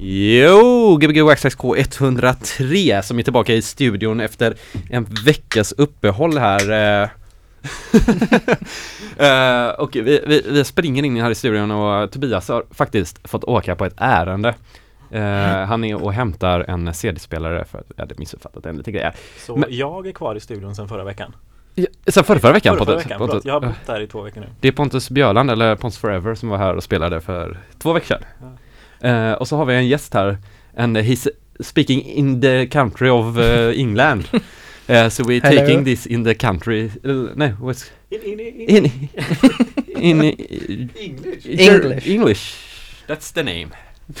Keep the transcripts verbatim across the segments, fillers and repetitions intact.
Jo, G B G Waxtrax K ett hundra tre som är tillbaka i studion efter en veckas uppehåll här. uh, och vi, vi, vi springer in här i studion och Tobias har faktiskt fått åka på ett ärende. Uh, han är och hämtar en C D-spelare för att jag hade missuppfattat en liten grej. Så Men, jag är kvar i studion sedan förra veckan. Ja, sen förra, förra veckan, förra, förra Pontus, veckan Pontus. Jag har bott där i två veckor nu. Det är Pontus Björland eller Pontus Forever som var här och spelade för två veckor sedan. Ja. Uh, och så har vi en gäst här. And he's speaking in the country of uh, England. Uh, so we're Hello. taking this in the country. Uh, no, what's In, in, in, in in, in English. English. English. That's the name.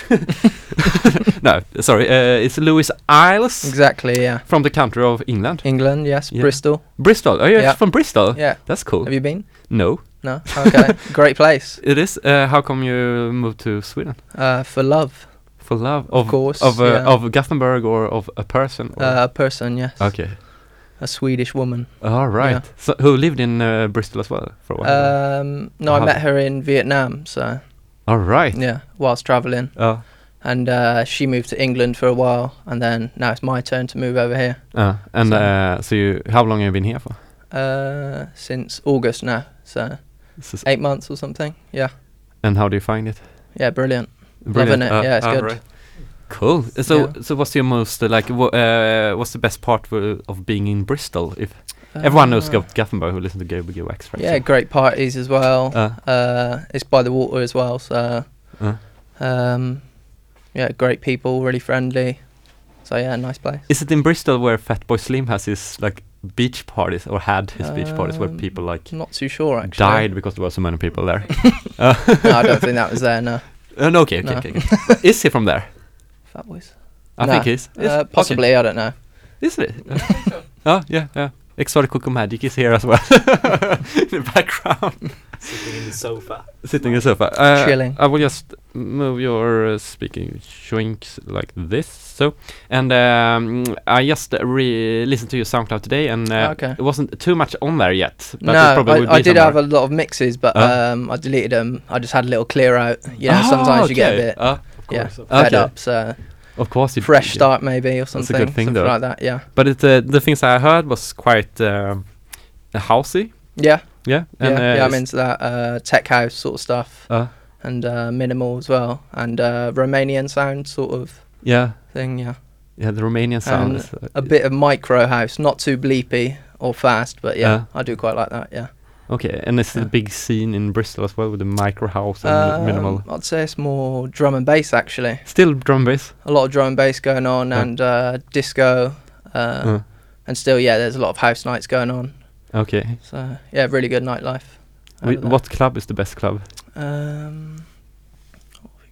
No, sorry. Uh, it's Lewis Isles. Exactly, yeah. From the country of England. England, yes. Yeah. Bristol. Bristol. Are you Yeah. from Bristol? Yeah. That's cool. Have you been? No. No? Okay. Great place. It is. Uh, how come you moved to Sweden? Uh, for love. For love of Of course, of uh, yeah. of Gothenburg or of a person? Or? Uh, a person, yes. Okay. A Swedish woman. All right. Yeah. So who lived in uh, Bristol as well for a while? Um, no, How- I met her in Vietnam, so All right. yeah, whilst travelling. Uh, And uh, she moved to England for a while, and then now it's my turn to move over here. uh, and So- uh, so you, how long have you been here for? Uh, since August now, so This is- eight months or something. Yeah, and how do you find it? yeah, brilliant. Brilliant. Loving it. Yeah, it's all good. right. Cool. So Yeah. so what's your most uh, like? Wha- uh, what's the best part w- of being in Bristol? If everyone knows Uh, Go- Gothenburg who listen to G B G Wax, right? Yeah, great parties as well. Uh. Uh, it's by the water as well, so Uh. um, yeah, great people, really friendly. So yeah, nice place. Is it in Bristol where Fatboy Slim has his like beach parties or had his beach parties where Um, people like Not too sure actually. died because there were so many people there? uh, No, I don't think that was there. No, uh, no, okay, okay, No. okay. okay. Is he from there? Fat Boys. I No. think he's. Uh, possibly, I don't know. Is it? Oh, yeah, yeah. Exotic Coco Magic is here as well. In the background. Sitting in the sofa. Sitting in the sofa. Uh, Chilling. I will just move your uh, speaking shrinks like this. So, and um, I just re- listened to your SoundCloud today, and uh, Okay. it wasn't too much on there yet. But it No, probably would I, I be did have somewhere. a lot of mixes, but Uh. um, I deleted them. I just had a little clear out. You know, Ah, sometimes you get a okay. bit, Uh, Of yeah, course. Of fed Okay. up. So of course, you fresh yeah. start maybe or a good something, thing, something though. like that. Yeah, But it, uh, the things I heard was quite um, housey. yeah, Yeah, and, yeah. uh, yeah I'm s- into that uh, tech house sort of stuff. Uh, And uh, minimal as well, and uh, Romanian sound sort of yeah, thing, yeah. yeah. The Romanian sound. And is, uh, a bit of micro house, not too bleepy or fast, but yeah, Uh. I do quite like that. Yeah. Okay, and it's Yeah. a big scene in Bristol as well with the micro house and Um, minimal. I'd say it's more drum and bass actually. Still drum bass. A lot of drum and bass going on, Uh. and uh, disco, uh, Uh, and still, yeah, there's a lot of house nights going on. okay. So yeah, really good nightlife. Wh- over there. what club is the best club? Um, what have we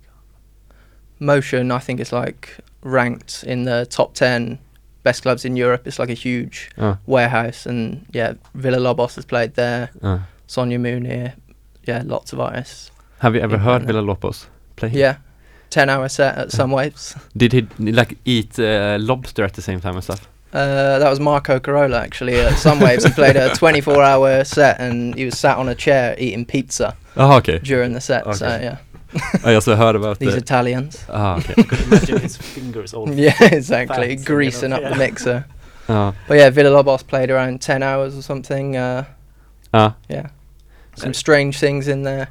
got? Motion, I think, is like ranked in the top ten best clubs in Europe. It's like a huge Uh, warehouse, and yeah, Villa Lobos has played there. uh. Sonia Mooney, yeah, lots of artists. Have you ever Yeah, heard no. Villa Lobos play? Yeah, ten hour set at some waves. Did he like eat uh, lobster at the same time and stuff? Uh, that was Marco Carola actually at some waves. He played a twenty-four hour set, and he was sat on a chair eating pizza Oh, okay. during the set. So Okay. yeah, I also heard about these the. Italians. Ah, okay. Imagine his fingers all Yeah, exactly, Fats, greasing you up know, the yeah. mixer. Uh, But yeah, Villa Lobos played around ten hours or something. Uh, uh, yeah, some Uh, strange things in there,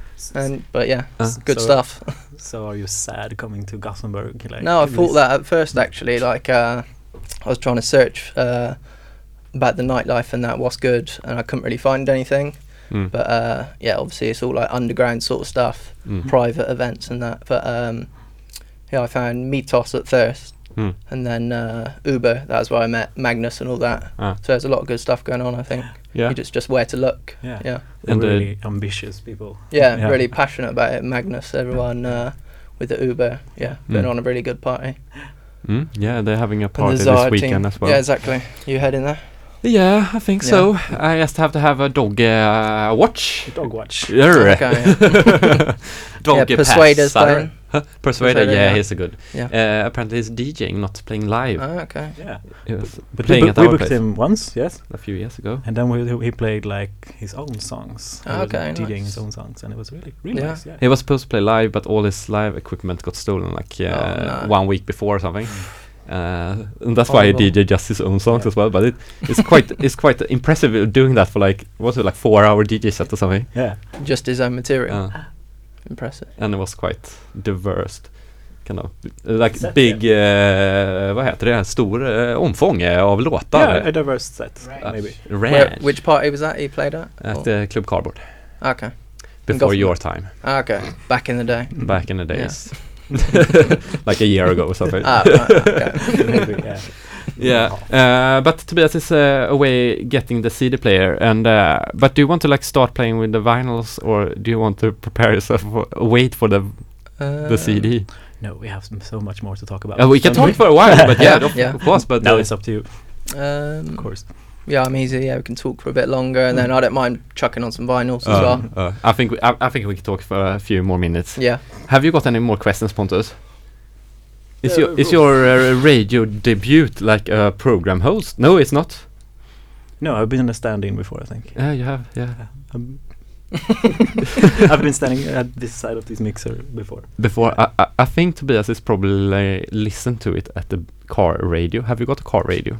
and but yeah, Uh, it's good so- stuff. So are you sad coming to Gothenburg? Like, No, I this- thought that at first actually. Like uh, I was trying to search uh, about the nightlife and that what's good, and I couldn't really find anything. mm, But uh, yeah, obviously it's all like underground sort of stuff, mm, private events and that. But um, yeah, I found Mythos at first, mm. and then uh, Uber. That was where I met Magnus and all that. Ah, So there's a lot of good stuff going on. I think yeah. you just just where to look. Yeah. Yeah, They're And, uh, really ambitious people. yeah, Yeah. really passionate about it. Magnus, everyone uh, with the Uber. Yeah, been Mm. on a really good party. Mm, yeah, they're having a And party the this Zard weekend team. as well. Yeah, exactly. You heading there? Yeah, I think Yeah. so. I just have to have a dog uh, watch. Dog watch. Yeah. Okay, yeah. Dog yeah, pass, Persuaders sorry. playing. Huh? Persuader, Persuader, yeah, yeah. he's a good. Yeah. Uh, apparently he's DJing, not playing live. Oh, okay. Yeah. He was But we, playing book- at we our booked place him once, yes. a few years ago. And then we, he played like his own songs. He Oh, was okay, DJing nice. his own songs, and it was really, really Yeah. nice. Yeah. He was supposed to play live, but all his live equipment got stolen like uh, Oh, no. one week before or something. Uh, and that's why he Horrible. D J just his own songs Yeah. as well. But it, it's quite it's quite impressive doing that for like what was it like four hour D J set or something. Yeah. Just his own material. Uh, Impressive. and it was quite diverse. Kind of like Set, big, uh, vad heter det? Stor uh, omfång eh, av låtar. Yeah, a diverse set, Uh, maybe. Where, Ranch which party was that he played at? at Or- the Club Cardboard okay. before Gotham. your time, Okay. Back in the day. back in the Yeah. days, like a year ago or something. Ah, right, okay. Maybe, yeah. Yeah, uh, but Tobias is uh, away getting the C D player, and uh, but do you want to like start playing with the vinyls, or do you want to prepare yourself for, wait for the Uh, the C D? No, we have some, so much more to talk about. Uh, we can don't talk for a while, but yeah, of, Yeah. of course. But Now uh, it's up to you, Um, of course. Yeah, I'm easy. Yeah, we can talk for a bit longer, and then I don't mind chucking on some vinyls as uh, well. uh, I think we, I, I think we can talk for a few more minutes. Yeah. Have you got any more questions, Pontus? Is Uh, your is your uh, radio debut like a program host? No, it's not. No, I've been a stand-in before, I think. Yeah, you have. Yeah. Um, I've been standing at this side of this mixer before. Before, I, I I think Tobias is probably listened to it at the car radio. Have you got a car radio?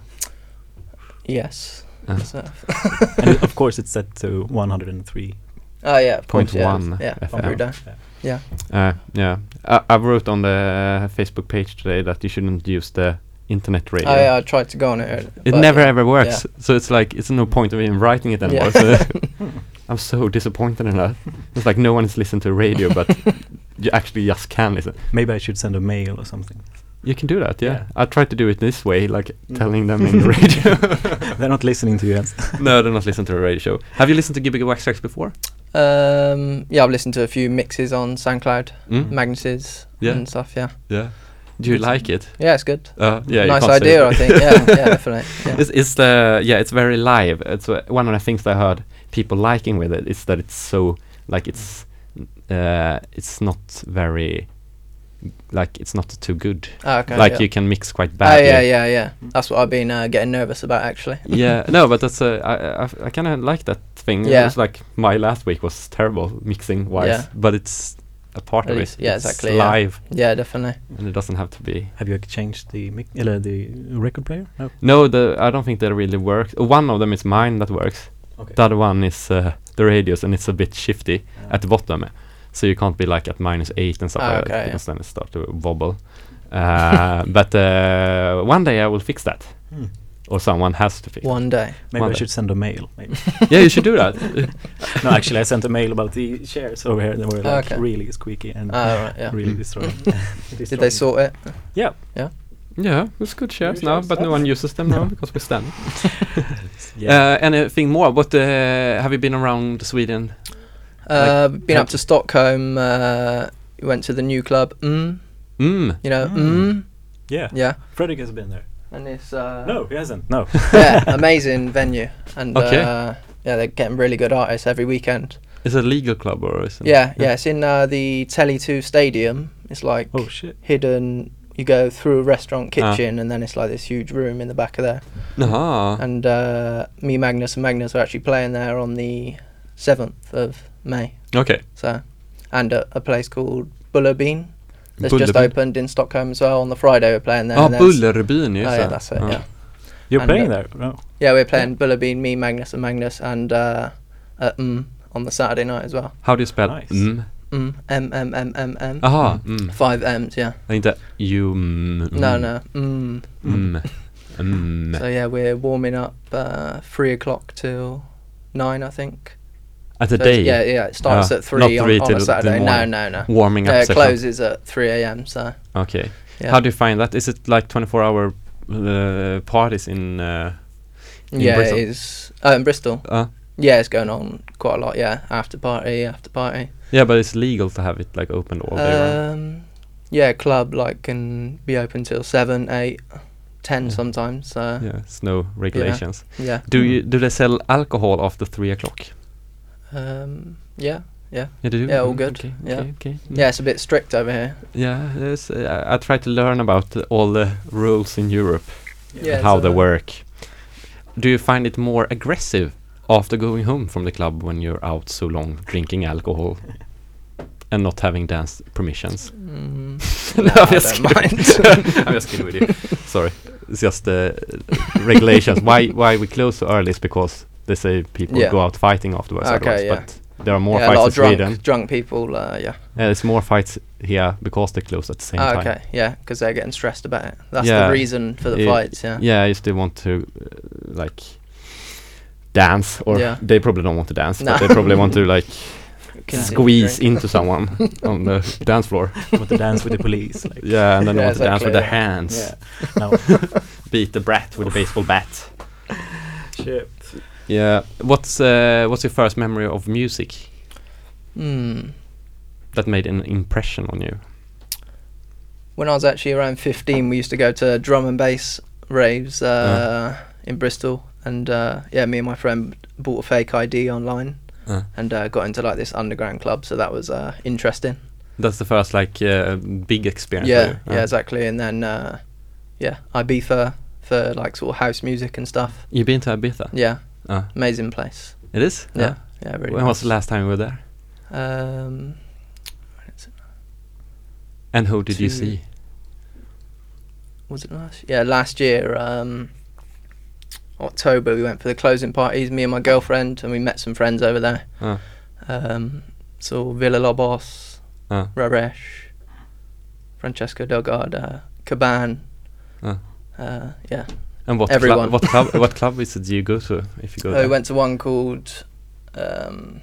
Yes. Uh. So- And it- of course, it's set to one hundred three. oh yeah, of Point course. Yeah, one yeah. F M. Every day. Yeah. Uh, yeah, I, I wrote on the Facebook page today that you shouldn't use the internet radio. Oh yeah, I tried to go on it. It but never yeah. ever works. So it's like it's no point of even writing it anymore. Yeah. So I'm so disappointed in that. It's like no one is listening to radio, but you actually just can listen. Maybe I should send a mail or something. You can do that, yeah. Yeah. I tried to do it this way, like Mm. telling them in the radio. They're not listening to you, Jens. No, they're not listening to a radio show. Have you listened to Gbg Wax Tracks before? Um, yeah, I've listened to a few mixes on SoundCloud, Mm? Magnus's Yeah. and stuff. Yeah. Yeah. Do you like it? Yeah, it's good. Uh, yeah. you Nice can't say idea, it. I think. Yeah, yeah, definitely. Yeah. It's, it's the yeah, it's very live. It's uh, one of the things that I heard people liking with it is that it's so like it's uh, it's not very like it's not too good. Ah, okay. like yeah. you can mix quite Oh badly. yeah, yeah, yeah. That's what I've been uh, getting nervous about actually. Yeah, no, but that's uh, I I, I kind of like that thing. Yeah. It was like my last week was terrible mixing wise, Yeah. but it's a part At of least- it. yeah, It's exactly, yeah. live, Yeah, definitely. and it doesn't have to be. Have you changed the mic- uh, the record player? No. No, the I don't think that really works. One of them is mine that works. Okay. The other one is uh, the radios, and it's a bit shifty at the bottom, so you can't be like at minus eight and stuff Ah, like okay, that yeah. because then it starts to wobble. Uh, but uh, one day I will fix that, Hmm. or someone has to fix. it. One day. Maybe One I day. should send a mail. Maybe. Yeah, you should do that. No, actually, I sent a mail about the chairs over here. They were like Okay. really squeaky and Ah, right, yeah. really destroying. Did they sort it? Yeah. Yeah, it's good shares Good now, shares, but no yeah. one uses them now because we stand. Yeah. Uh, anything more? What uh, have you been around Sweden? Uh, been have- up to Stockholm. Uh, we went to the new club. Mm, Mm. you know. Mm. Mm. Yeah. Yeah. Fredrik has been there. And it's uh, No, he hasn't. No. yeah, amazing venue. And Okay. uh, yeah, they're getting really good artists every weekend. Is it a legal club or is it? Yeah, yeah. It's in uh, the Tele two Stadium. It's like Oh shit. hidden. You go through a restaurant Ah. kitchen, and then it's like this huge room in the back of there. Aha. And uh, me, Magnus, and Magnus are actually playing there on the seventh of May. Okay. So, and a, a place called Bullerbyn that's just Bullerbyn. opened in Stockholm as well. On the Friday we're playing there. Ja, and then it's- Bullerbyn, Oh just yeah, det. that's it. Ja. Yeah, You're And, playing uh, there? No. yeah, we're playing Bullerbyn, me, Magnus, and Magnus, and uh, at mm, on the Saturday night as well. How do you spell Nice. mm? Mm, M M M M M. Aha, mm. Five M's, yeah. Inte you mm, No, mm, no. Mm. Mm. Mm. So yeah, we're warming up uh, three o'clock till nine, I think. At the So day? Yeah, yeah. It starts Ah, at three, not on, three on till a the Saturday. No, morning. no, no. Warming up Yeah, it session. closes at three a m. So Okay. yeah. How do you find that? Is it like twenty-four hour uh, parties in uh, in yeah, Bristol? it is. Oh, in Bristol. Uh, Yeah, it's going on quite a lot. Yeah, after party, after party. yeah, but it's legal to have it like open all day round. Um, yeah, club like can be open till seven, eight, ten Yeah. sometimes. So yeah, Yeah, it's no regulations. yeah. Do you do they sell alcohol after three o'clock? Um, yeah, Yeah. Yeah, do you? Yeah, all Mm, good. Okay, Yeah. okay, okay. Mm. Yeah, it's a bit strict over here. Yeah, there's, uh, I try to learn about uh, all the rules in Europe, Yeah, and how so, they uh, work. Do you find it more aggressive after going home from the club when you're out so long drinking alcohol and not having dance permissions? Mm, No, no, I'm I just don't kidding. mind. I'm just kidding with you. Sorry, it's just uh, regulations. Why why we close so early is because they say people Yeah. go out fighting afterwards. Okay, otherwise, yeah. But there are more yeah, a fights lot in of drunk, Sweden. drunk people. Uh, yeah. Yeah, it's more fights here because they close at the same Ah, time. okay. Yeah, because they're getting stressed about it. That's Yeah. the reason for the Yeah. fights. Yeah. Yeah, if they want to uh, like dance, or Yeah. they probably don't want to dance, No. but they probably want to like Continue squeeze drink. into someone on the dance floor. Want to dance with the police. Like, Yeah, and then they Yeah, want to dance with exactly, their yeah. hands. yeah. No. Beat the brat with a baseball bat. Shit. Yeah. What's uh, what's your first memory of music Hmm. that made an impression on you? When I was actually around fifteen, we used to go to drum and bass raves uh, Yeah. in Bristol, and uh, yeah, me and my friend bought a fake I D online Uh, and uh, got into like this underground club. So that was uh, interesting. that's the first like uh, big experience. Yeah, for you. yeah, exactly. And then uh, yeah, Ibiza for like sort of house music and stuff. You've been to Ibiza? Yeah, Uh, amazing place. it is. Yeah, yeah, really. When was nice. the last time you were there? Um, when is it? And who did you Two- see? Was it last? Yeah, last year. Um, October, we went for the closing parties. Me and my girlfriend, and we met some friends over there. Uh, Um, so Villa Lobos, uh, Raresh, Francesco Delgado, Caban. uh. Uh, yeah. And what Everyone. club? What club? What club is it do you go to if you go Oh, there? we went to one called um,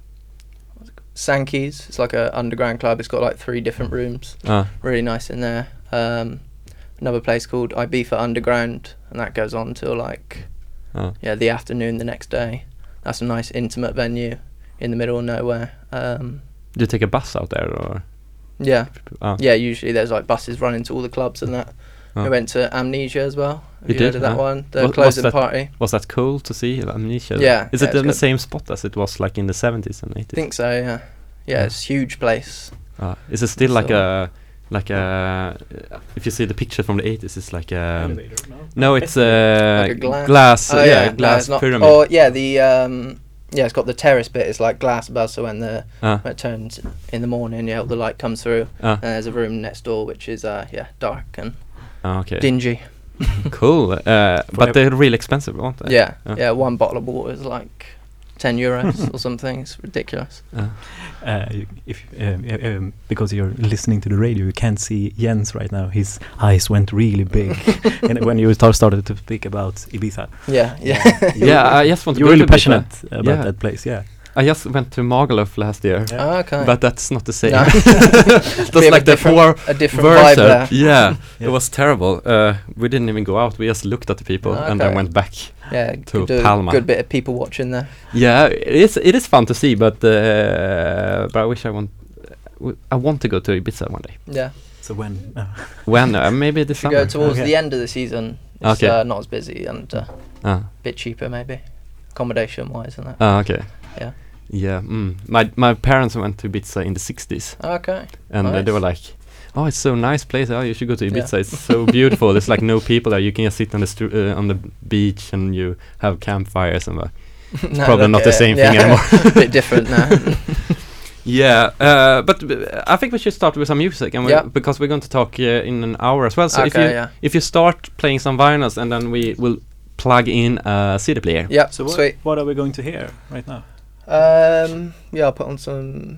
what's it called? Sankey's. It's like a underground club. It's got like three different rooms. Uh, Really nice in there. Um, another place called Ibiza Underground, and that goes on till like uh, yeah the afternoon the next day. That's a nice intimate venue in the middle of nowhere. Um, do you take a bus out there or? yeah, Uh, yeah. Usually there's like buses running to all the clubs and that. uh. We went to Amnesia as well. Have You you, heard did, of that huh? one? The What- what's closing that? party. Was that cool to see Amnesia? Yeah, Is yeah, it it's in the good. same spot as it was like in the seventies and I eighties? think so. Yeah, yeah. Yeah. It's a huge place. Uh, is it still like So- a like a? If you see the picture from the eighties, it's like a. Elevator, no? No, it's a Like a glass- glass. Oh uh, yeah, no, glass it's not. pyramid. Oh yeah, the um, yeah, it's got the terrace bit. It's like glass above, so when the Uh, when it turns in the morning, yeah, all the light comes through. uh, And there's a room next door which is uh yeah dark and uh, okay. dingy. Cool. Uh, but ev- they're really expensive, aren't they? Yeah, Uh. yeah. One bottle of water is like ten euros or something. It's ridiculous. Uh, Uh, you- if um, uh, um, because you're listening to the radio, you can't see Jens right now. His eyes went really big, and when you start started to speak about Ibiza, Yeah, yeah. yeah, I just want to you're go really to Ibiza. passionate about Yeah. that place. Yeah, I just went to Magaluf last year, Yeah. Ah, okay. but that's not the same. No. That's Bit of a like the different- four a different vibe verse. there. Yeah, it Yeah. was terrible. Uh, we didn't even go out. We just looked at the people Ah, and then okay. went back. Yeah, to could do Palma. a good bit of people watching there. Yeah, it is. It is fun to see, but uh, but I wish I want. w- I want to go to Ibiza one day. Yeah, so when uh, When? Uh, maybe this if you summer. go towards Okay. the end of the season, it's Okay. uh, not as busy and uh, Ah, a bit cheaper maybe, accommodation wise and that. ah, okay. Yeah. Yeah. Mm. My my parents went to Ibiza in the sixties, Okay. and uh, they Nice. were like, "Oh, it's so nice place. Oh, you should go to Yeah. Ibiza. It's so beautiful. There's like no people there. You can just sit on the stru- uh, on the beach and you have campfires and." Uh, No, probably look not at the it. same Yeah. thing anymore. Bit different now. Yeah, uh, but uh, I think we should start with some music, and we, Yeah. because we're going to talk uh, in an hour as well. So if Okay, you yeah. if you start playing some vinyls, and then we will plug in a C D player. Yeah, so what, sweet. what are we going to hear right now? Um, yeah, I'll put on some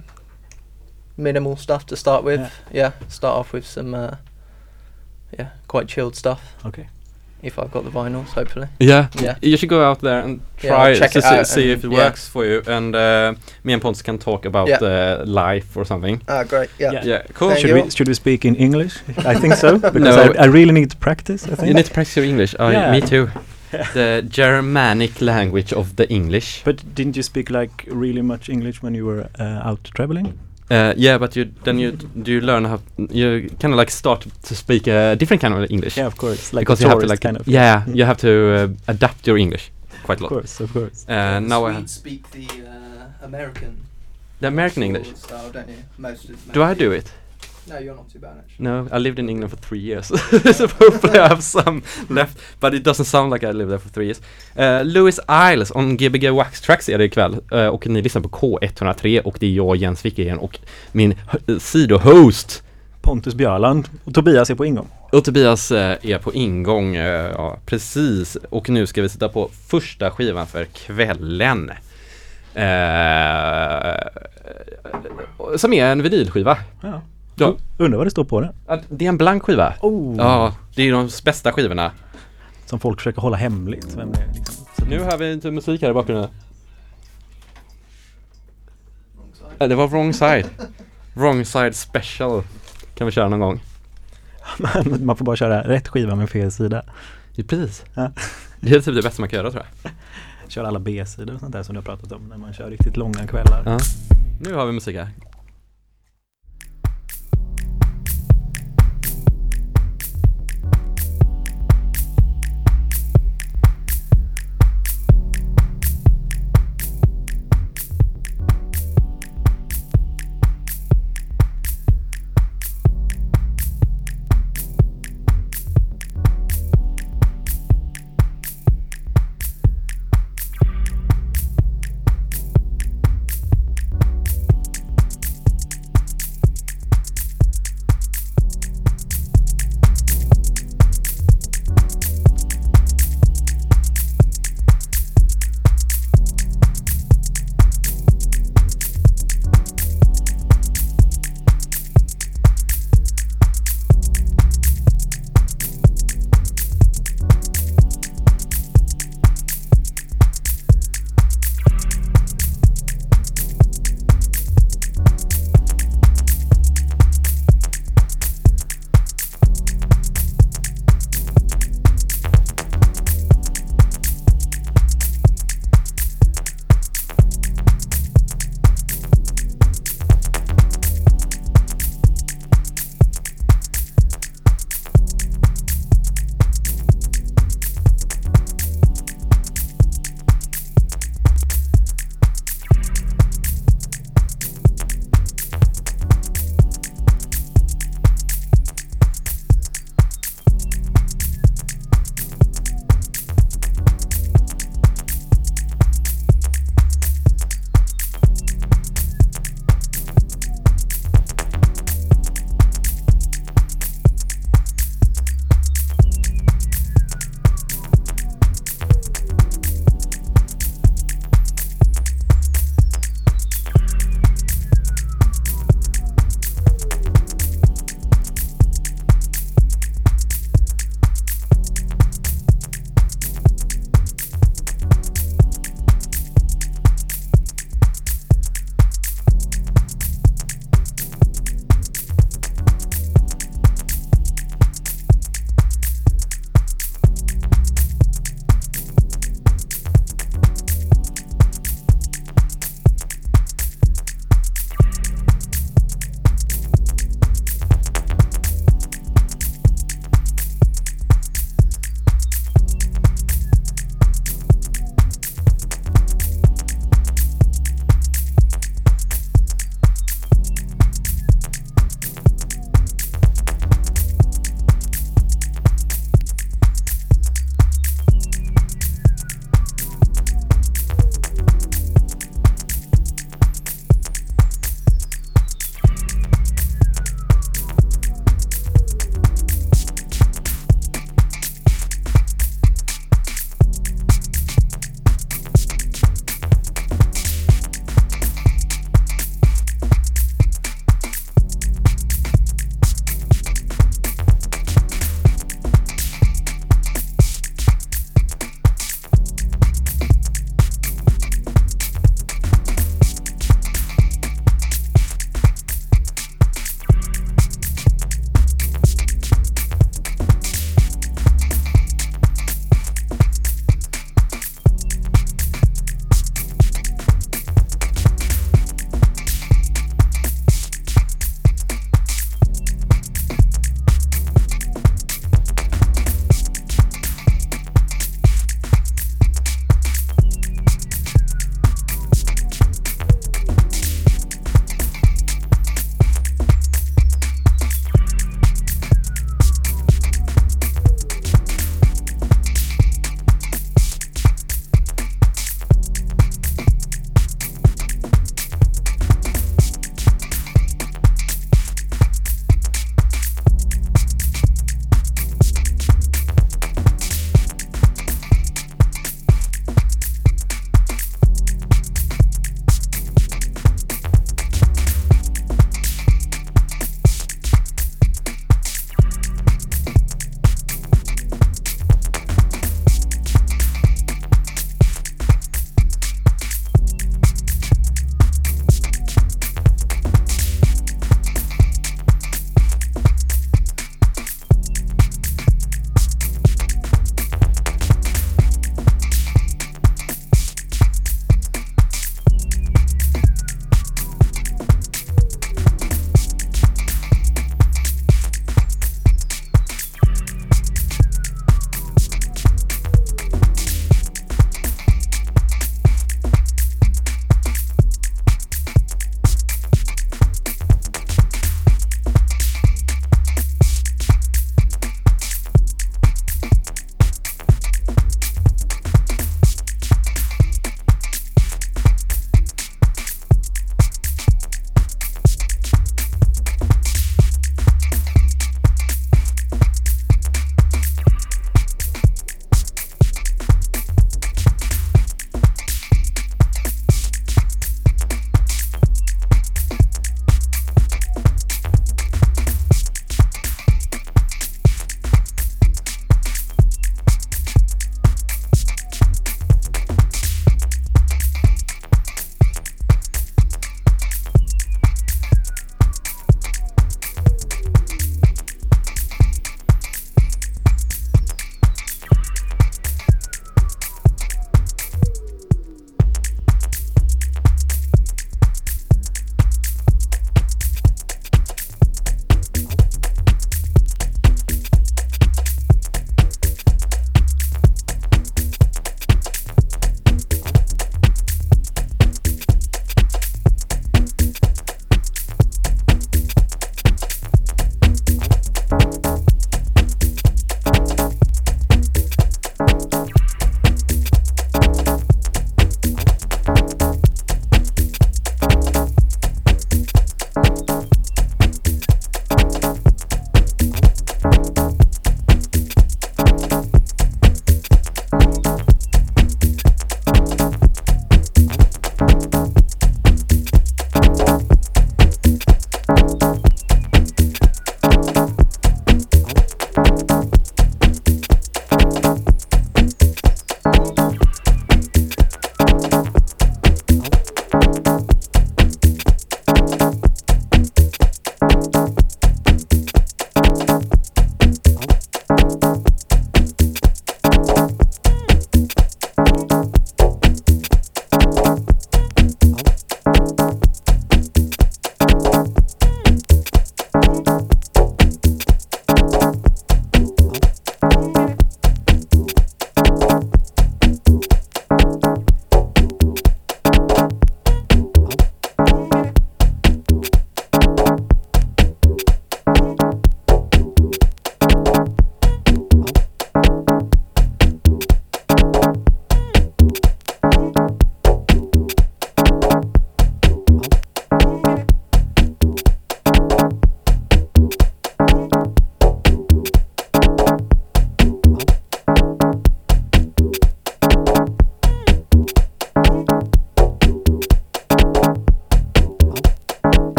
minimal stuff to start with. Yeah. Yeah, start off with some, uh, yeah, quite chilled stuff. Okay. If I've got the vinyls, hopefully. Yeah, Yeah. you should go out there and Yeah, I'll try check to it see, out see and- if it yeah. works for you. And uh, me and Pontus can talk about Yeah. uh, life or something. Ah, great. Yeah. Yeah. Yeah, cool. Thank Should you. we should we speak in English? I think so because No. I, I really need to practice. I think. You need to practice your English. Oh, Yeah. me too. The Germanic language of the English. But didn't you speak like really much English when you were uh, out traveling? Uh, yeah, but you then you do you learn how you kind of like start to speak a different kind of English. Yeah, of course. Like because a you have to tourist like kind of. yeah, you have to uh, adapt your English quite a Of lot. course, of course. Uh, now I have, speak the uh, American the American English. Style, don't you? Most of Do I do it? No, you're not too bad actually. No, I lived in England for three years. So hopefully I have some left. But it doesn't sound like I lived there for three years. Uh, Louis Isles on G B G Wax Tracks är det ikväll. Uh, och ni lyssnar på K ett noll tre och det är jag, Jens Wikegren, och min h- sidohost Pontus Björland och Tobias är på ingång. Och Tobias uh, är på ingång. Uh, ja, precis. Och nu ska vi sitta på första skivan för kvällen. Uh, som är en vinylskiva. Ja. Ja. Undrar vad det står på den. Det är en blank skiva. Oh. Ja, det är de bästa skivorna. Som folk försöker hålla hemligt. Vem det är, liksom. Så Nu hör vi inte musik här i bakgrunden. Ja, det var Wrong Side. Wrong Side Special. Kan vi köra någon gång. Men man får bara köra rätt skiva med fel sida. Ja, precis. Ja. Det är typ det bästa man kan göra, tror jag. Kör alla B-sidor och sånt där som du har pratat om när man kör riktigt långa kvällar. Ja. Nu har vi musik här.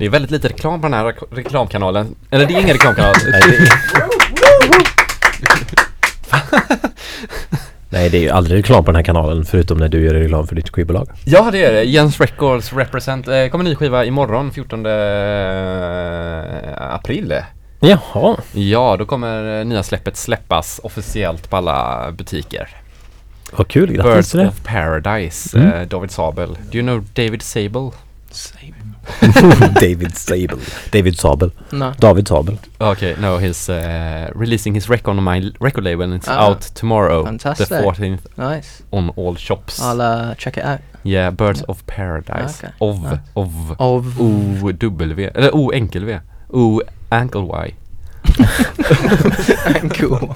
är väldigt lite reklam på den här rek- reklamkanalen. Eller det är ingen reklamkanal. Nej, det är, nej, det är ju aldrig reklam på den här kanalen förutom när du gör reklam för ditt skivbolag. Ja, det är det. Jens Records Represent. Eh, kommer ny skiva imorgon, fjortonde april. Jaha. Ja, då kommer eh, nya släppet släppas officiellt på alla butiker. Vad kul, grattis Birds till det. of Paradise, Mm. eh, David Sabel. Do you know David Sabel? David Sabel. David Sabel. No. David Sabel. Okay, no, he's uh, releasing his record on my record label and it's Ah, out tomorrow, fantastic. the fourteenth, Nice. on all shops. I'll uh, check it out. Yeah, Birds of Paradise. Okay. Of, Nice. of, Of O W, eller O enkel V. O ankle Y. cool.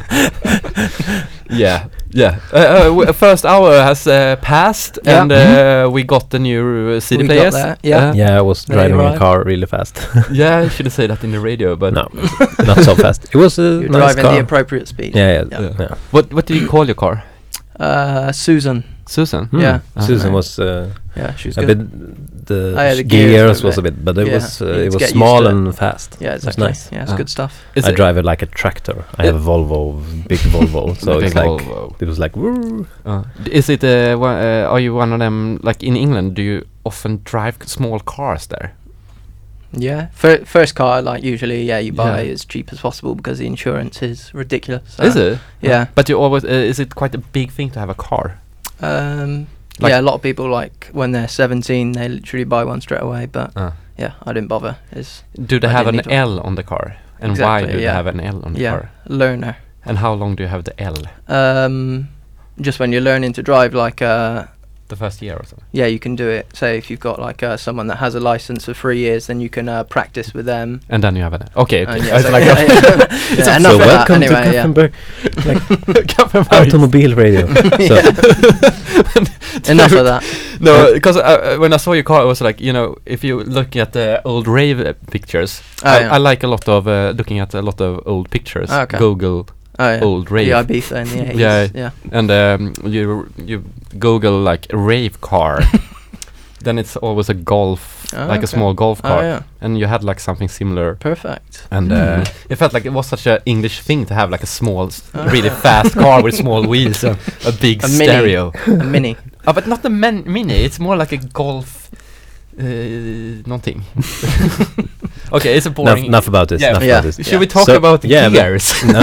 Yeah, yeah. Uh, uh, w- first hour has uh, passed Yeah. and uh, we got the new uh, C D We got players. that, yeah. Uh, Yeah, I was There driving you a are. car really fast. yeah, I shouldn't say that in the radio, but No, not so fast. It was a You're nice driving car. the appropriate speed. yeah, yeah, Yeah. yeah. what what do you call your car? Uh, Susan. Susan? Hmm. Yeah. Susan Uh, was uh, Yeah, she's a good. bit. The, Oh, yeah, the gears, gears was a were bit, but it yeah, was uh, you need it to was get used small to it. and fast. Yeah, It was exactly. nice. Yeah, it's Ah. good stuff. Is I it- drive it like a tractor. I have a Volvo, big Volvo, so Big it's like Volvo. it was like. Woo. Uh, d- is it? Uh, one, uh, are you one of them? Like in England, do you often drive small cars there? Yeah. Fir- first car, like usually, yeah, you buy Yeah. as cheap as possible because the insurance is ridiculous. So, is it? Yeah. But you always. Uh, is it quite a big thing to have a car? Um, Like- yeah, a lot of people like when they're seventeen, they literally buy one straight away. But Uh. yeah, I didn't bother. It's Do they I have an didn't need L on the car? And why Exactly, do they yeah. have an L on the yeah, car? learner. And how long do you have the L? Um, just when you're learning to drive, like uh, The first year or something? yeah, you can do it. Say if you've got like uh, someone that has a license for three years, then you can uh, practice with them. And then you have an L. Okay, okay. And yeah, It's so like yeah, yeah. It's Yeah, a- enough So of that. welcome Anyway, to yeah. Gothenburg Gothenburg. Automobile Radio. So, Enough of that. No, because uh, when I saw your car, it was like, you know, if you look at the old rave uh, pictures, Oh, I, yeah. I like a lot of uh, looking at a lot of old pictures. Oh, okay. Google Oh yeah. old rave, The Ibiza in the eighties. Yeah. Yeah. and um, you you Google like a rave car, then it's always a golf, Oh, like okay. a small golf Oh car, yeah. and you had like something similar. Perfect. And Hmm. uh, it felt like it was such an English thing to have like a small, s- Oh. really fast car with small wheels and a big A mini. stereo. A mini. Oh, but not the men- mini. It's more like a golf, uh, någonting. Okay, it's a enough, boring. enough about this. Yeah. Enough Yeah. about this. Should we talk So, about the yeah, but- gears? No.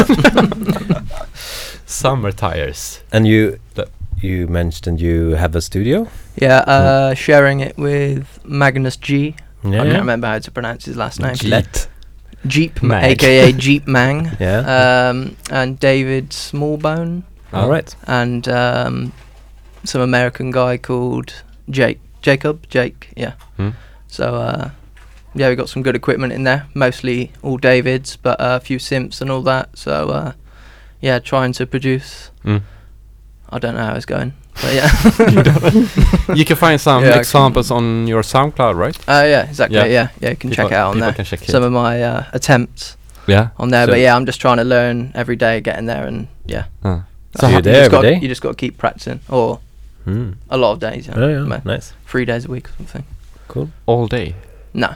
Summer tires. And you, The- you mentioned you have a studio. Yeah. Uh, sharing it with Magnus G. Yeah. I can't remember how to pronounce his last name. G. Let. Jeep, Mag. aka Jeep Mang. Yeah. Um, and David Smallbone, All right. and um, some American guy called Jake. Jacob. Jake. Yeah. Hmm. So uh, yeah, we got some good equipment in there. Mostly all Davids, but uh, a few Simps and all that. So uh, yeah, trying to produce. Mm. I don't know how it's going, but yeah. You can find some Yeah, I can- examples on your SoundCloud, right? Uh, yeah, exactly. Yeah. Yeah, yeah, you can check People- it out on people there. can check it. Some of my uh, attempts Yeah. on there, So- but yeah, I'm just trying to learn every day, getting there, and yeah. Uh. So you're you there just every got, day? You just got to keep practicing, or Hmm. a lot of days. Yeah, Oh, yeah. Ma- Nice. three days a week or something. Cool. All day. No.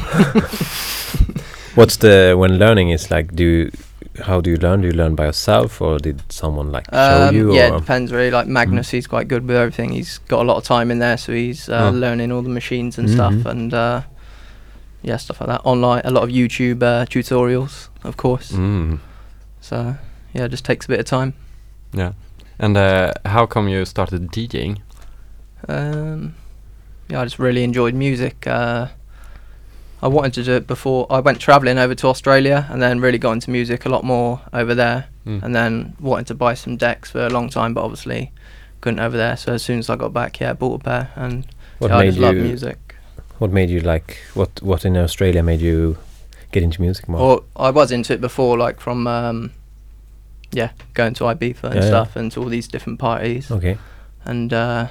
What's the when learning is like? Do you, how do you learn? Do you learn by yourself, or did someone like show Um, you? yeah, or? it depends really. Like Magnus, he's quite good with everything. He's got a lot of time in there, so he's uh, Oh. learning all the machines and Mhm. stuff, and uh, yeah, stuff like that. Online, a lot of YouTube uh, tutorials, of course. Mm. So yeah, it just takes a bit of time. Yeah. And uh, how come you started DJing? Um, yeah, I just really enjoyed music. Uh, I wanted to do it before I went travelling over to Australia, and then really got into music a lot more over there. Mm. And then wanted to buy some decks for a long time, but obviously couldn't over there. So as soon as I got back, yeah, I bought a pair, and What yeah, I made just love you? music. What made you like? What What in Australia made you get into music more? Or I was into it before, like from um, yeah, going to Ibiza and Yeah, yeah. stuff, and to all these different parties, Okay. and uh,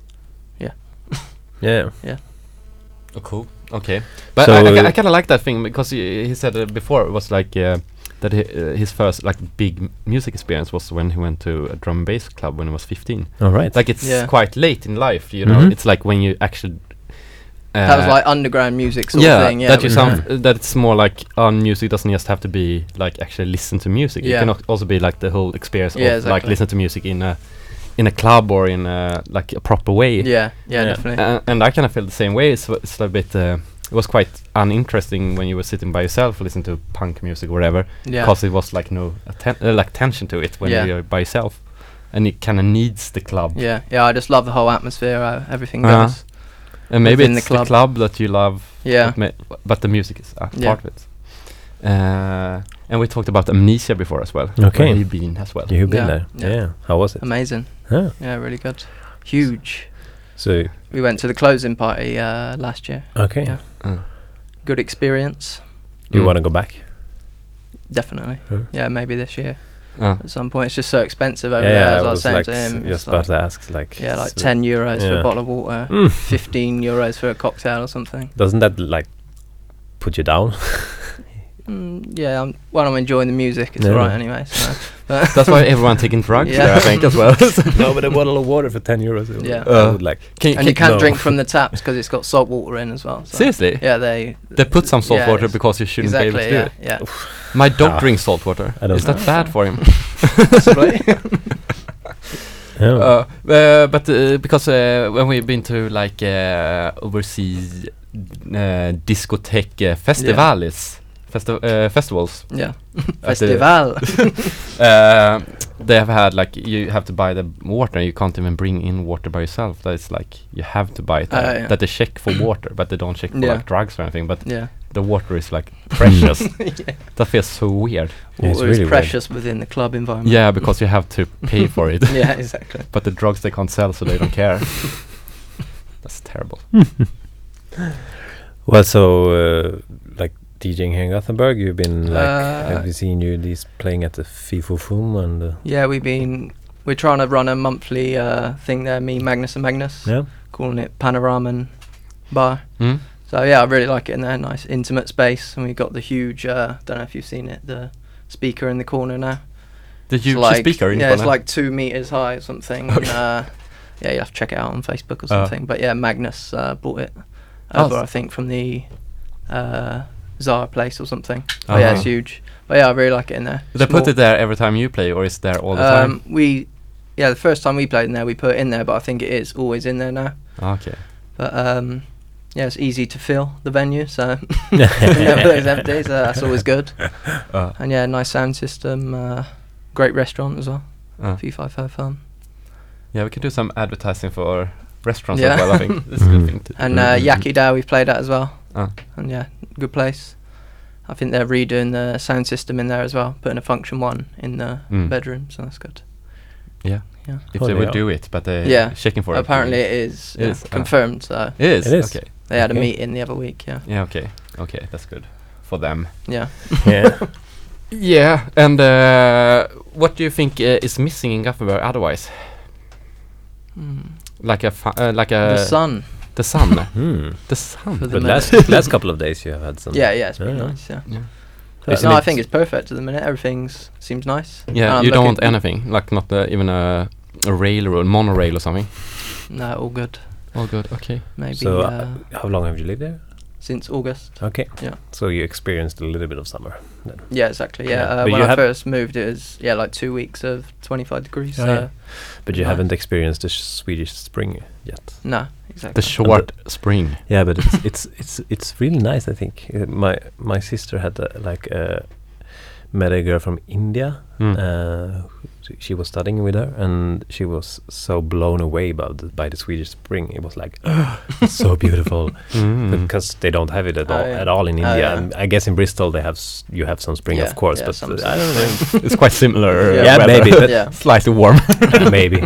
Yeah. Oh, cool. Okay. But So, I, I, uh, I kind of like that thing because he, he said uh, before it was like uh, that he, uh, his first like big m- music experience was when he went to a drum and bass club when he was fifteen. All right. Like it's Yeah. quite late in life, you know. Mhm. It's like when you actually that was like underground music sort yeah, of thing. Yeah, that you it was, sound uh, that it's more like on music doesn't just have to be like actually listen to music. Yeah. It can al- also be like the whole experience Yeah, of like exactly. listen to music in a in a club or in a like a proper way. yeah, yeah, Yeah. definitely. Uh, and I kind of feel the same way. It's, it's a bit. Uh, it was quite uninteresting when you were sitting by yourself, listening to punk music or whatever, yeah, because it was like no atten- uh, like tension to it when Yeah. you're by yourself, and it kind of needs the club. yeah, yeah. I just love the whole atmosphere. Uh, everything Uh-huh. goes. And maybe within the it's the club. club. that you love. Yeah, But, ma- but the music is a Yeah. part of it. Uh, and we talked about Amnesia before as well. Okay. where you've been as well. You've been Yeah, there. yeah. Yeah. How was it? amazing. Huh. Yeah, really good. Huge. So We went to the closing party uh, last year. okay. Yeah. Uh, Good experience. Do you Mm. want to go back? Definitely. Huh? Yeah, maybe this year uh, at some point. It's just so expensive over yeah, there. As I I was was saying like to s- him, just it's about like, to ask. Like yeah, like s- ten euros for yeah. a bottle of water, Mm. fifteen euros for a cocktail or something. Doesn't that like put you down? Mm, yeah, I'm, when I'm enjoying the music, it's Yeah. alright anyway. So. But that's why everyone taking drugs Yeah. there, I think, as well. No, but a bottle of water for ten euros. it- Yeah. I Uh, would like. Can, and you can- can't no. drink from the taps because it's got salt water in as well. So. seriously? Yeah, they They put some salt yeah, water it's- because you shouldn't exactly. be able to yeah, do it. yeah. My dog Ah. drinks salt water. I don't Is that know. bad for him? Possibly. Yeah. Uh, uh, but uh, because uh, when we've been to like uh, overseas uh, discotheque uh, festivals, festi- uh, festivals, yeah. At the- Festival. uh, they have had like you have to buy the water. You can't even bring in water by yourself. That's like you have to buy it. Uh, there. yeah. That they check for water, but they don't check for Yeah. like drugs or anything. But yeah. the water is like precious. yeah. That feels so weird. Yeah, it's Water really is precious within the club environment. Yeah, because you have to pay for it. yeah, exactly. But the drugs they can't sell, so they don't care. That's terrible. Well, so uh, like DJing here in Gothenburg, you've been like, Uh, have you seen you these playing at the FIFO-FUM and uh, Yeah, we've been we're trying to run a monthly uh, thing there. Me, Magnus, and Magnus, yeah, calling it Panoraman Bar. Mm? So yeah, I really like it in there. Nice intimate space, and we've got the huge. Uh, don't know if you've seen it. The speaker in the corner now. The It's huge like, speaker in yeah, the it's corner. like two meters high or something. And, uh, yeah, you have to check it out on Facebook or Uh. something. but yeah, Magnus uh, bought it Oh, over, s- I think, from the uh, Zara place or something. But yeah, it's Uh-huh. huge. But yeah, I really like it in there. They put Small- it there every time you play, or is there all the um, We, yeah, the first time we played in there, we put it in there, but I think it is always in there now. time? Okay. But um, yeah, it's easy to fill the venue, so it never is empty. So that's always good. Uh, And yeah, nice sound system, uh, great restaurant as well. uh. F five five Farm. Yeah, we can do some advertising for restaurants Yeah. as well. I think that's a good Mhm. thing to. And uh, Mhm. Yakida we've played at as well. Uh. And yeah, good place. I think they're redoing the sound system in there as well, putting a function one in the Mm. bedroom, so that's good. Yeah. Yeah. If Oh, they they would are. do it, but they're Yeah. checking for it. Apparently it is, It yeah, is, ah. confirmed, so It is. It is. Okay. they had a Okay. meeting the other week, yeah. Yeah. Okay. Okay. That's good for them. Yeah. yeah. Yeah. And uh, what do you think uh, is missing in Gothenburg otherwise? Mm. Like a fu- uh, like a the sun. the sun. Hmm. The sun. For the But minute. last last couple of days you have had some. Yeah, yeah, it's been Yeah. nice, yeah. Yeah. But Isn't no, I it- think it's perfect at the minute. Everything's seems nice. Yeah. And I'm You don't want looking- anything like not uh, even a a railroad, monorail or something. No, all good. All good. Okay. Maybe So, uh, uh, how long have you lived there? since August. Okay. Yeah. So you experienced a little bit of summer. Then. Yeah, exactly. Yeah, Yeah. uh, But when you I have- first moved, it was yeah like two weeks of twenty-five degrees. Oh, so yeah. But you nice. haven't experienced the sh- Swedish spring yet. No, exactly. The short spring. Yeah, but it's it's it's it's really nice. I think uh, my my sister had uh, like uh, met a girl from India. Mm. Uh, she- she was studying with her, and she was so blown away about the, by the Swedish spring. It was like it's so beautiful Mm. because they don't have it at Oh, all yeah. at all in Oh, India. yeah. And I guess in Bristol they have s- you have some spring, Yeah, of course, yeah, but some uh, spring. I don't know. It's quite similar. uh, Yeah. Yeah, weather. maybe, but yeah. Slightly warm. maybe.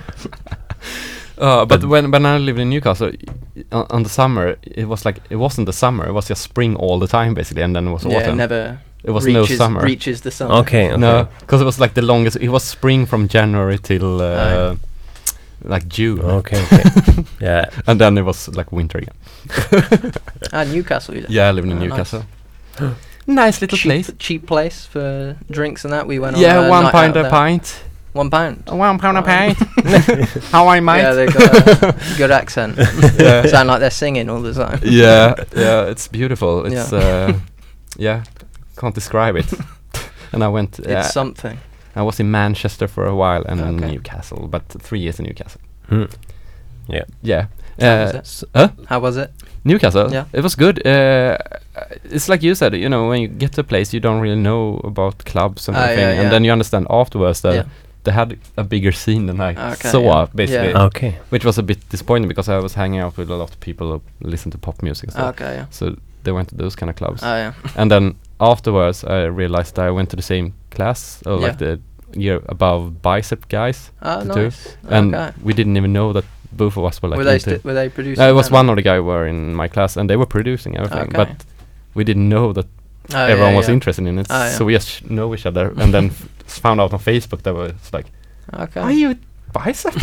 Uh, but, But- when when I lived in Newcastle, y- on, on the summer, it was like it wasn't the summer. It was just spring all the time basically, and then it was Yeah, autumn. never it was reaches, no summer. reaches the sun. Okay, okay. No, because it was like the longest. It was spring from January till uh, Oh. like June, Okay, okay. Yeah. and then it was like winter again. Ah, Newcastle. You Yeah, I lived in Oh, nice. Newcastle. Nice little cheap, place. cheap place for drinks and that. We went. Yeah, on a one night pint out a there. pint. One pound. One pound a pint. How I might. Yeah, they've got a good accent. Yeah. Sound like they're singing all the time. Yeah, yeah, it's beautiful. It's yeah, uh, yeah can't describe it. And I went. It's Uh, something. I was in Manchester for a while and in Okay. Newcastle, but three years in Newcastle. Hmm. Yeah. Yeah. How was Uh, it? s- huh? How was it? Newcastle. Yeah. It was good. Uh, it's like you said, you know, when you get to a place, you don't really know about clubs and Ah, everything, yeah, and yeah. then you understand afterwards that Yeah. they had a bigger scene than I Okay, saw, yeah. basically, Yeah. Okay. which was a bit disappointing because I was hanging out with a lot of people who listen to pop music and stuff. Okay, yeah. So they went to those kind of clubs, Oh, yeah. and then afterwards I realized I went to the same class, or like the year above bicep guys, Oh, the two. nice. and Okay. we didn't even know that both of us were like were they into- sti- were they producing? No, it was then? one of the guy who were in my class, and they were producing everything, Okay. but we didn't know that Oh, everyone yeah, was yeah. interested in it. Ah, yeah. So we just sh- know each other, and then f- found out on Facebook that was like, Okay. "Are you bicep?"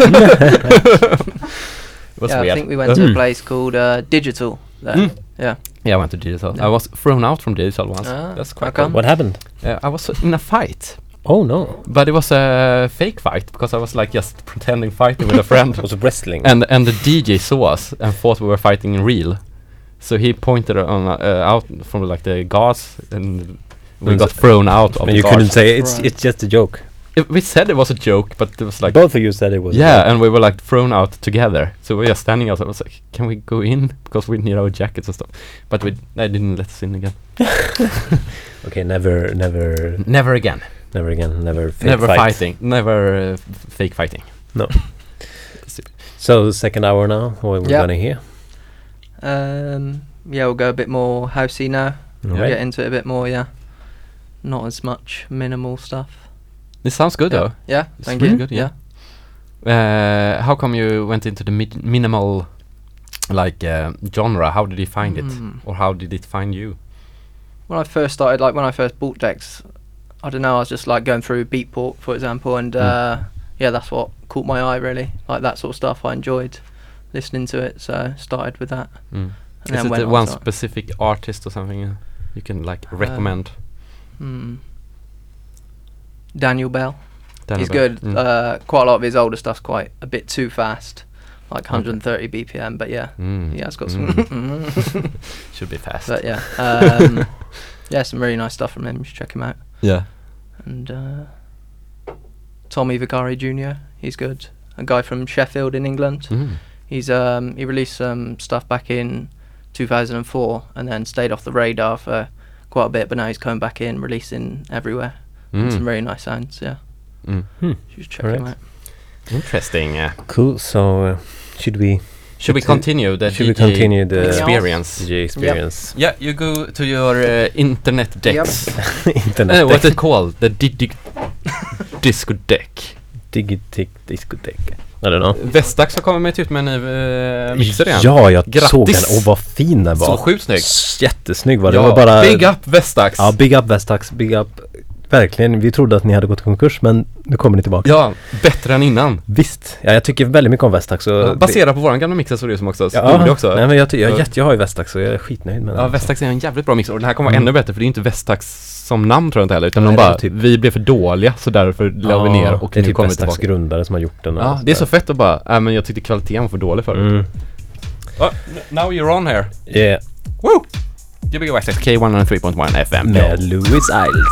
It was yeah, weird. I think we went to Uh, a place called uh, Digital. There. Mm. Yeah. Yeah, I went to digital. Yeah. I was thrown out from digital once. Ah, That's quite how cool. come? What happened? Uh, I was in a fight, Oh no. but it was a fake fight because I was like just pretending fighting with a friend. It was wrestling. And and the D J saw us and thought we were fighting in real, so he pointed on uh, out from like the guards, and we Mm, got so- thrown out of And the you guards. couldn't say it's Right. it's just a joke. It, we said it was a joke, but it was like Both of you said it was. a yeah, joke. and we were like thrown out together. So we were just standing outside. I was like, "Can we go in?" Because we need our jackets and stuff. But we they didn't let us in again. Okay, never, never, Never again. never again, never. Fake Never fight. fighting. Never uh, f- fake fighting. No. So second hour now. What we're Yeah. gonna hear? Um. Yeah, we'll go a bit more housey now. All Get right. into it a bit more. Yeah. Not as much minimal stuff. This sounds good yeah. though. Yeah. It's Thank really you. good, yeah. Uh, how come you went into the mid- minimal, like uh, genre? How did you find it, Mm. or how did it find you? When I first started, like when I first bought decks, I don't know. I was just like going through Beatport, for example, and Mm. uh, yeah, that's what caught my eye really. Like that sort of stuff. I enjoyed listening to it, so started with that. Mm. And Is then it went the on one to- specific artist or something uh, you can like Uh, recommend? Hmm. Daniel Bell. Daniel He's Bell? good. Mm. Uh, quite a lot of his older stuff's quite a bit too fast, like Okay. one thirty B P M. But yeah, Mm. he has got Mm. some. Should be fast. But yeah, um, yeah, some really nice stuff from him. You should check him out. yeah. And uh, Tommy Vicari Junior He's good. A guy from Sheffield in England. Mm. He's um, he released some stuff back in two thousand four and then stayed off the radar for quite a bit. But now he's coming back in, releasing everywhere. And Mm. some very nice sounds. Yeah, Mm. Hmm. you should check him Alright. out. Interesting. Yeah. Cool. So uh, should we? Should we Should- continue the should we D J continue the- experience? D J experience. Yeah, you go to your uh, internet decks. Internet. Uh, what's it called? The di- di- disco deck. Digitic discotek. I don't know. Vestax har kommit med ut med en uh, mixer igen. Ja, jag Grattis. såg den. Och vad fin den var. Så sjukt snygg. S- Jättesnygg var det. Ja, Det var bara... big up Vestax. Ja, big up Vestax. Big up. Verkligen. Vi trodde att ni hade gått i konkurs, men nu kommer ni tillbaka. Ja, bättre än innan. Visst. Ja, jag tycker väldigt mycket om Vestax. Och Ja, baserat på våran gamla mixer så är det som också. Ja, Ja, också. nej men jag, ty- jag, Ja. jag, jag har ju Vestax och jag är skitnöjd med den. Ja, Vestax är en jävligt bra mixer och den här kommer vara Mm. ännu bättre för det är inte Vestax som namn tror jag inte heller utan Nej, de det är bara, typ- vi blev för dåliga så därför la vi ner och det är nu typ kommer vi Vestax tillbaka. grundare som har gjort den. och Ja, sånt det är så där. fett att bara, äh, men jag tyckte kvaliteten var för dålig förut. Mm. Oh, now you're on here. Yeah. Woo! Gbg West K one oh three point one F M. Med Louis Isles.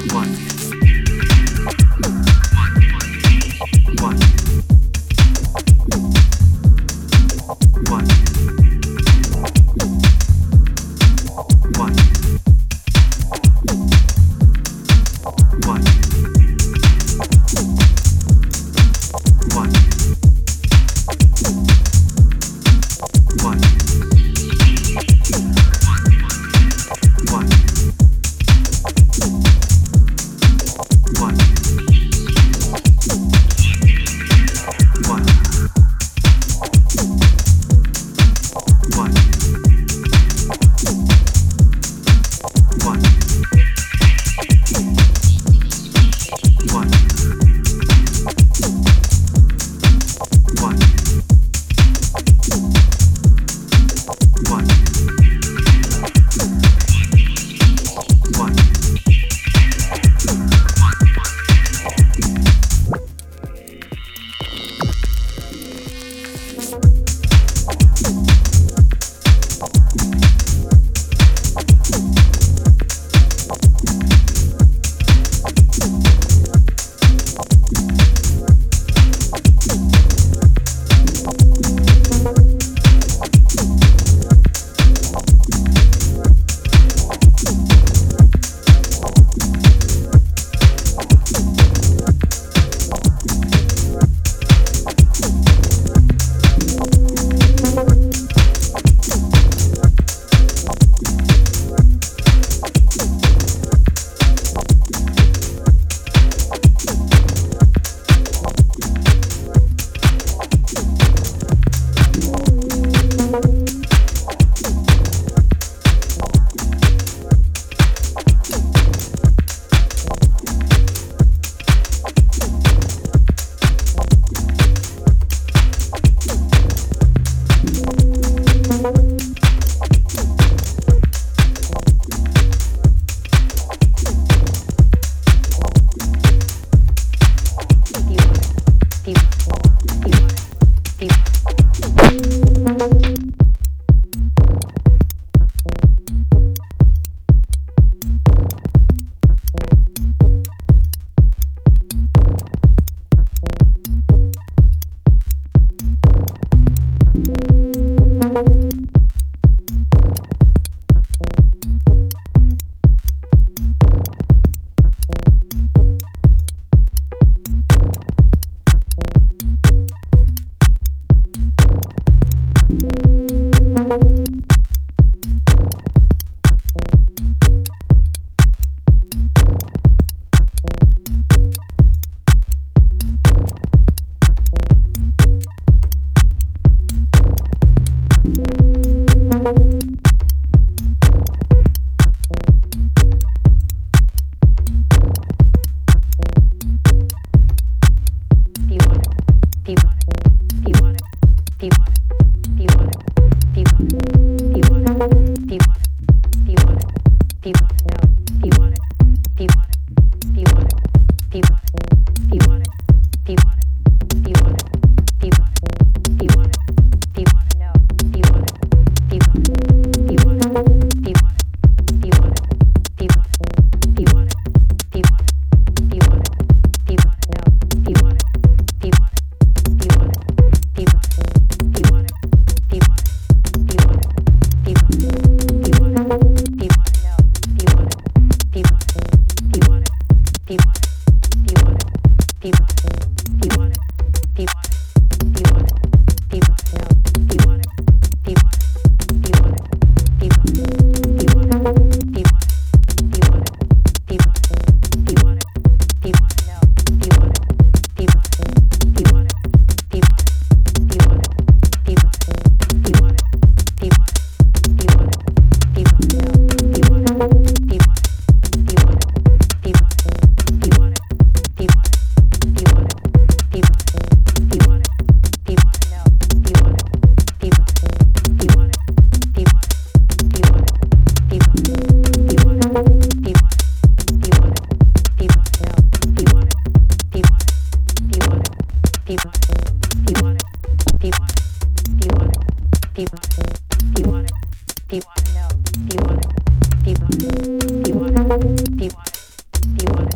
Do you want it? Do you want it? Do you want it? Do you want it? Do you want it?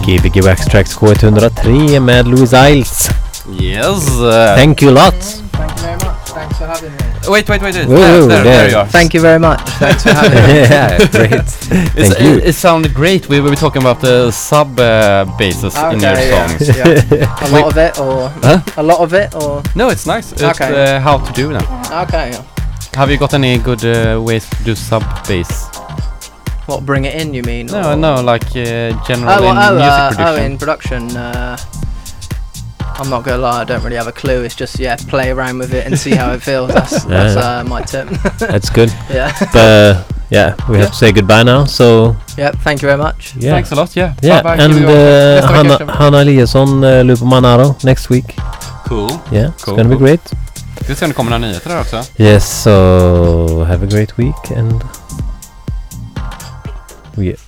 Gbg Wax Tracks K ett noll tre med Louise Isles. Yes. Uh, Thank you a lot. Thank you very much. Thanks for having me. wait, wait, wait. wait. Whoa, there, there, there. there you are. Thank you very much. Thanks for having me. Yeah, great. It's, Thank you. It, it sounded great. We were talking about the sub uh, basses in your Okay, yeah. songs. Yeah. A lot of it, or Huh? a lot of it, or No, it's nice. It's Okay. uh, how to do them. okay. Yeah. Have you got any good uh, ways to do sub bass? What, bring it in? You mean? No, or- no, like uh, general Oh, in oh, music uh, production. oh, in production. Uh, I'm not gonna lie, I don't really have a clue. It's just yeah, play around with it and see how it feels. That's, Yeah. that's uh, my tip. That's good. Yeah. But uh, yeah, we have to say goodbye now. So Yep. Thank you very much. yeah, Thanks a lot. Yeah. yeah, Bye-bye. and See you all uh, nästa Hanna, vecka. Hanna Eliasson, uh, Lupo Manaro next week. Cool. Yeah, it's Cool, gonna be cool. great. Det ska komma några nyheter där också. Yes, so have a great week and we